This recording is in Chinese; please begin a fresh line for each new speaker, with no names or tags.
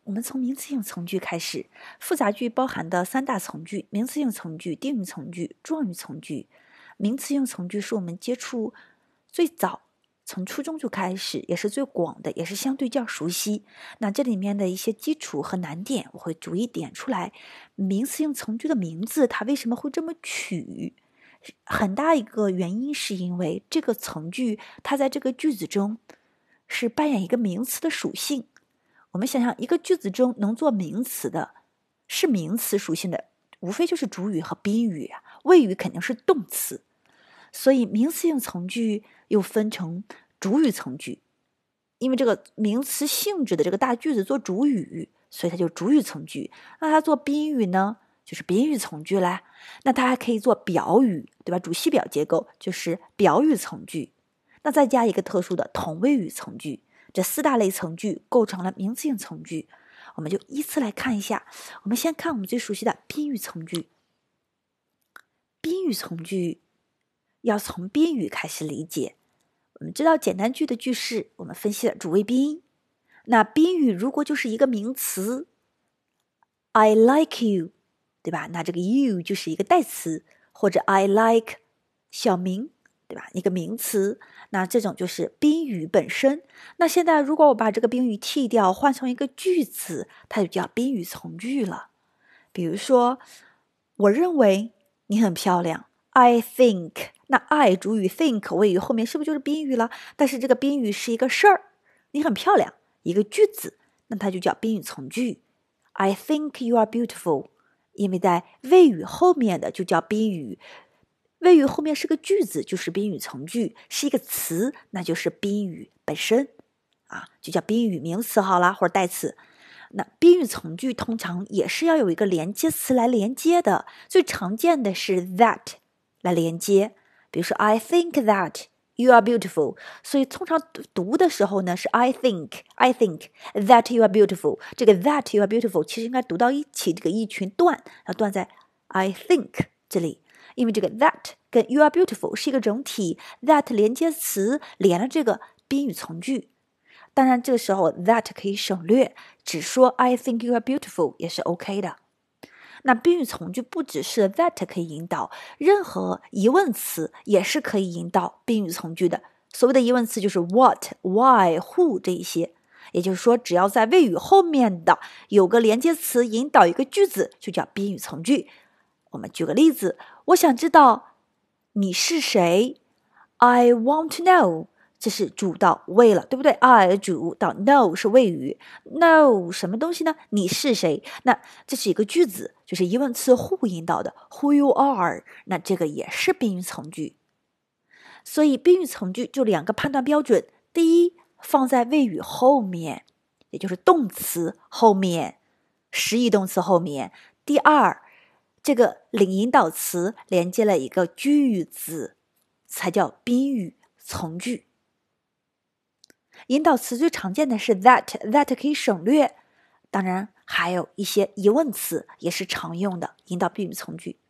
我们从名词性从句开始。复杂句包含的三大从句：名词性从句、定语从句、状语从句。名词性从句是我们接触最早，从初中就开始，也是最广的，也是相对较熟悉。那这里面的一些基础和难点，我会逐一点出来。名词性从句的名字，它为什么会这么取？很大一个原因是因为这个从句，它在这个句子中是扮演一个名词的属性。我们想想，一个句子中能做名词的，是名词属性的，无非就是主语和宾语啊，谓语肯定是动词。所以名词性从句又分成主语从句，因为这个名词性质的这个大句子做主语，所以它就主语从句。那它做宾语呢，就是宾语从句啦。那它还可以做表语，对吧？主系表结构就是表语从句。那再加一个特殊的同位语从句，这四大类从句构成了名词性从句。我们就依次来看一下。我们先看我们最熟悉的宾语从句。宾语从句要从宾语开始理解。我们知道简单句的句式，我们分析了主谓宾。那宾语如果就是一个名词 I like you， 对吧？那这个 you 就是一个代词，或者 I like 小明，对吧？一个名词，那这种就是宾语本身。那现在如果我把这个宾语剔掉，换成一个句子，它就叫宾语从句了。比如说，我认为你很漂亮 I think， 那 I 主语 think 谓语后面是不是就是宾语了？但是这个宾语是一个事儿，你很漂亮，一个句子，那它就叫宾语从句。I think you are beautiful， 因为在谓语后面的就叫宾语，谓语后面是个句子，就是宾语从句，是一个词，那就是宾语本身啊，就叫宾语名词好啦，或者代词。那宾语从句通常也是要有一个连接词来连接的，最常见的是 that 来连接。比如说 I think that you are beautiful， 所以通常读的时候呢是 I think that you are beautiful。 这个 that you are beautiful 其实应该读到一起，这个一群段要断在 I think 这里，因为这个 that 跟 you are beautiful 是一个整体， that 连接词连了这个宾语从句。当然这个时候 that 可以省略，只说 I think you are beautiful 也是 OK 的。那宾语从句不只是 that 可以引导，任何疑问词也是可以引导宾语从句的。所谓的疑问词就是 what why who 这一些，也就是说只要在谓语后面的有个连接词引导一个句子，就叫宾语从句。我们举个例子，我想知道你是谁 I want to know，这是主到谓了，对不对？ I 主到 know 是谓语， know 什么东西呢？你是谁？那这是一个句子，就是疑问词 who 引导的 who you are， 那这个也是宾语从句。所以宾语从句就两个判断标准，第一，放在谓语后面，也就是动词后面，实义动词后面。第二，这个领引导词连接了一个句子，才叫宾语从句。引导词最常见的是 that 可以省略，当然还有一些疑问词也是常用的引导宾语从句。